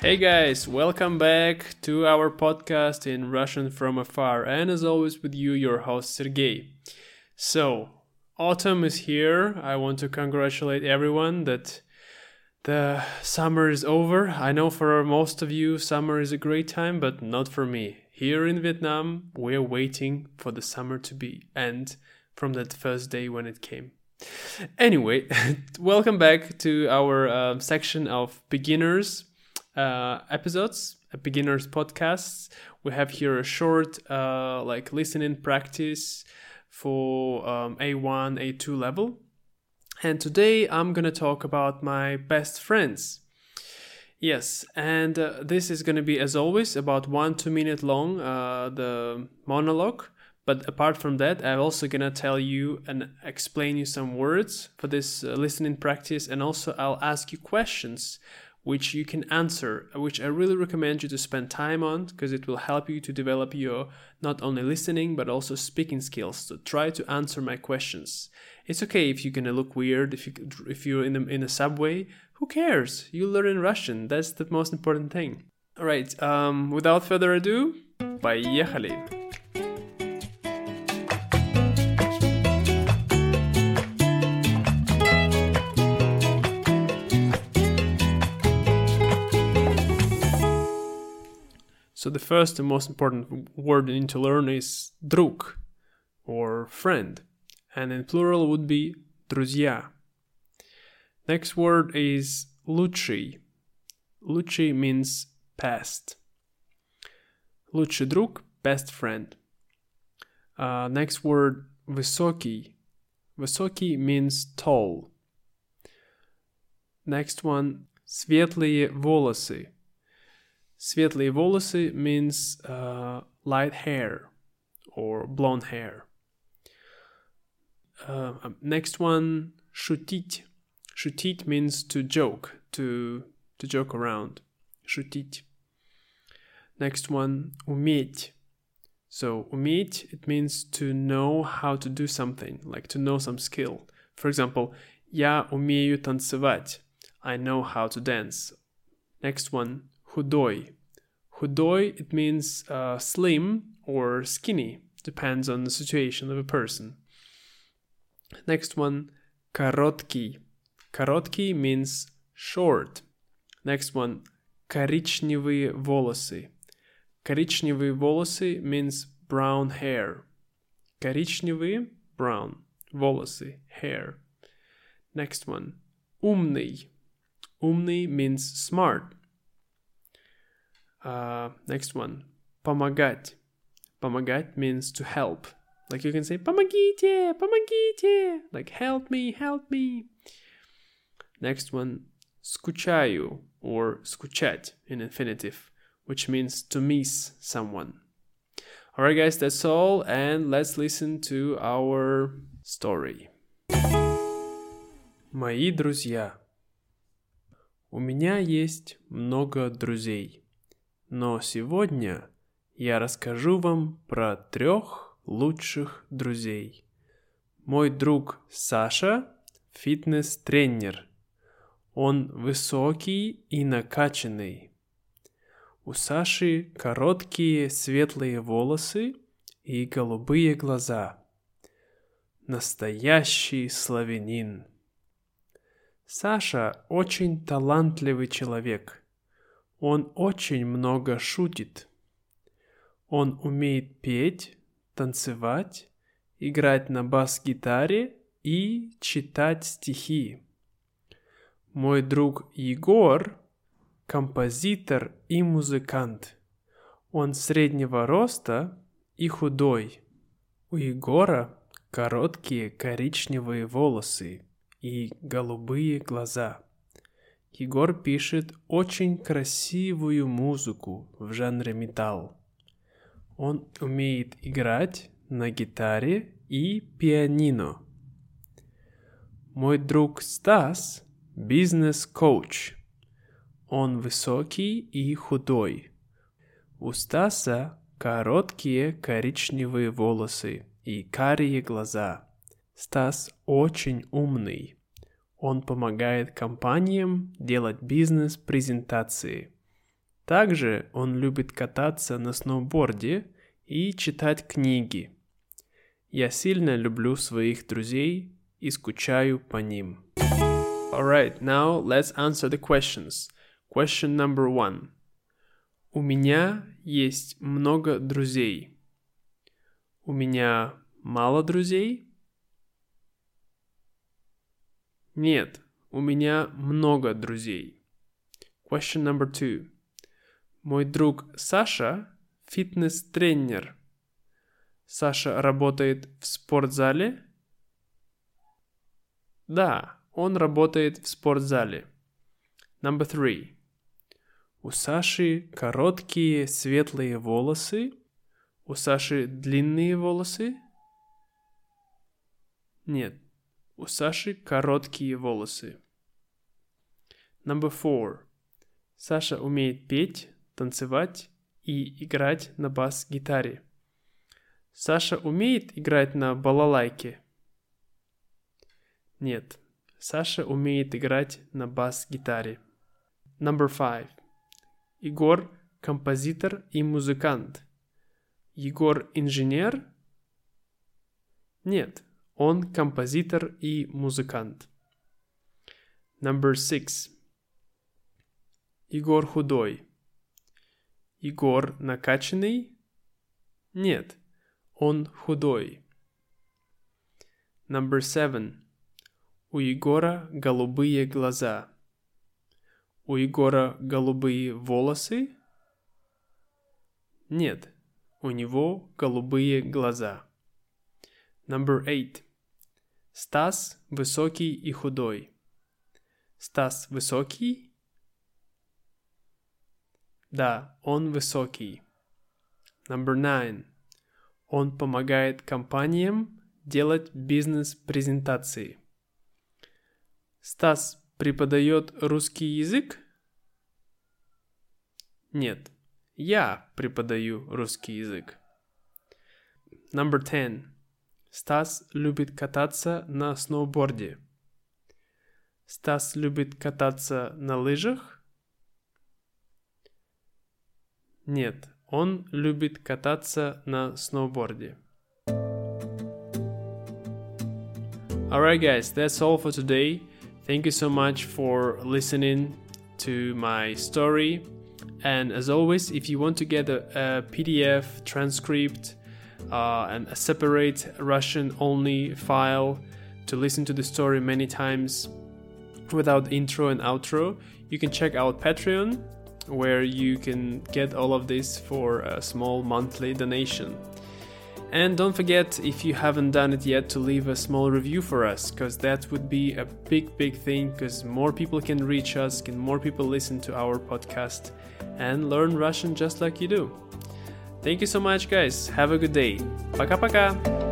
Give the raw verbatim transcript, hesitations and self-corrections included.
Hey guys, welcome back to our podcast in Russian from afar, and as always with you, your host Sergey. So, autumn is here. I want to congratulate everyone that the summer is over. I know for most of you, summer is a great time, but not for me. Here in Vietnam, we're waiting for the summer to be end from that first day when it came. Anyway, welcome back to our uh, section of beginners uh, episodes, a beginners podcasts. We have here a short uh, like listening practice for um, A one, A two level. And today I'm going to talk about my best friends. Yes, and uh, this is going to be, as always, about one, two minute long, uh, the monologue. But apart from that, I'm also going to tell you and explain you some words for this uh, listening practice. And also I'll ask you questions which you can answer, which I really recommend you to spend time on because it will help you to develop your not only listening but also speaking skills. So try to answer my questions. It's okay if you're going to look weird, if, you, if you're in a, in a subway. Who cares? You learn Russian. That's the most important thing. All right, um, without further ado, поехали! So the first and most important word you need to learn is друг, or friend. And in plural would be друзья. Next word is лучший. Лучший means best. Лучший друг, best friend. Uh, next word, высокий. Высокий means tall. Next one, светлые волосы. Светлые волосы means uh, light hair or blonde hair. Uh, next one, шутить. Шутить means to joke, to to joke around. Шутить. Next one, уметь. So уметь, it means to know how to do something, like to know some skill. For example, я умею танцевать. I know how to dance. Next one, худой. Худой, it means uh, slim or skinny, depends on the situation of a person. Next one, короткий. Короткий means short. Next one, коричневые волосы. Коричневые волосы means brown hair. Коричневые, brown. Волосы, hair. Next one, умный. Умный means smart. Uh, next one, помогать. Помогать means to help. Like you can say, помогите, помогите. Like help me, help me. Next one, скучаю, or скучать in infinitive, which means to miss someone. Alright guys, that's all, and let's listen to our story. Мои друзья. У меня есть много друзей. Но сегодня я расскажу вам про трех лучших друзей. Мой друг Саша – фитнес-тренер. Он высокий и накачанный. У Саши короткие светлые волосы и голубые глаза. Настоящий славянин. Саша очень талантливый человек. Он очень много шутит. Он умеет петь, танцевать, играть на бас-гитаре и читать стихи. Мой друг Егор – композитор и музыкант. Он среднего роста и худой. У Егора короткие коричневые волосы и голубые глаза. Егор пишет очень красивую музыку в жанре металл. Он умеет играть на гитаре и пианино. Мой друг Стас – бизнес-коуч. Он высокий и худой. У Стаса короткие коричневые волосы и карие глаза. Стас очень умный. Он помогает компаниям делать бизнес-презентации. Также он любит кататься на сноуборде и читать книги. Я сильно люблю своих друзей и скучаю по ним. Alright, now let's answer the questions. Question number one. У меня есть много друзей. У меня мало друзей? Нет, у меня много друзей. Question number two. Мой друг Саша – фитнес-тренер. Саша работает в спортзале? Да, он работает в спортзале. Number three. У Саши короткие светлые волосы? У Саши длинные волосы? Нет, у Саши короткие волосы. Number four. Саша умеет петь, танцевать и играть на бас-гитаре. Саша умеет играть на балалайке? Нет, Саша умеет играть на бас-гитаре. Number five. Егор – композитор и музыкант. Егор – инженер? Нет, он композитор и музыкант. Number six. Егор худой. Егор накачанный? Нет, он худой. Number seven. У Егора голубые глаза. У Егора голубые волосы? Нет, у него голубые глаза. Number eight. Стас высокий и худой. Стас высокий? Да, он высокий. Number nine. Он помогает компаниям делать бизнес-презентации. Стас преподает русский язык? Нет, я преподаю русский язык. Number ten. Стас любит кататься на сноуборде. Стас любит кататься на лыжах? Нет, он любит кататься на сноуборде. Alright guys, that's all for today. Thank you so much for listening to my story. And as always, if you want to get a, a P D F transcript uh, and a separate Russian-only file to listen to the story many times without intro and outro, you can check out Patreon, where you can get all of this for a small monthly donation. And don't forget, if you haven't done it yet, to leave a small review for us, because that would be a big, big thing, because more people can reach us, can more people listen to our podcast and learn Russian just like you do. Thank you so much, guys. Have a good day. Пока-пока.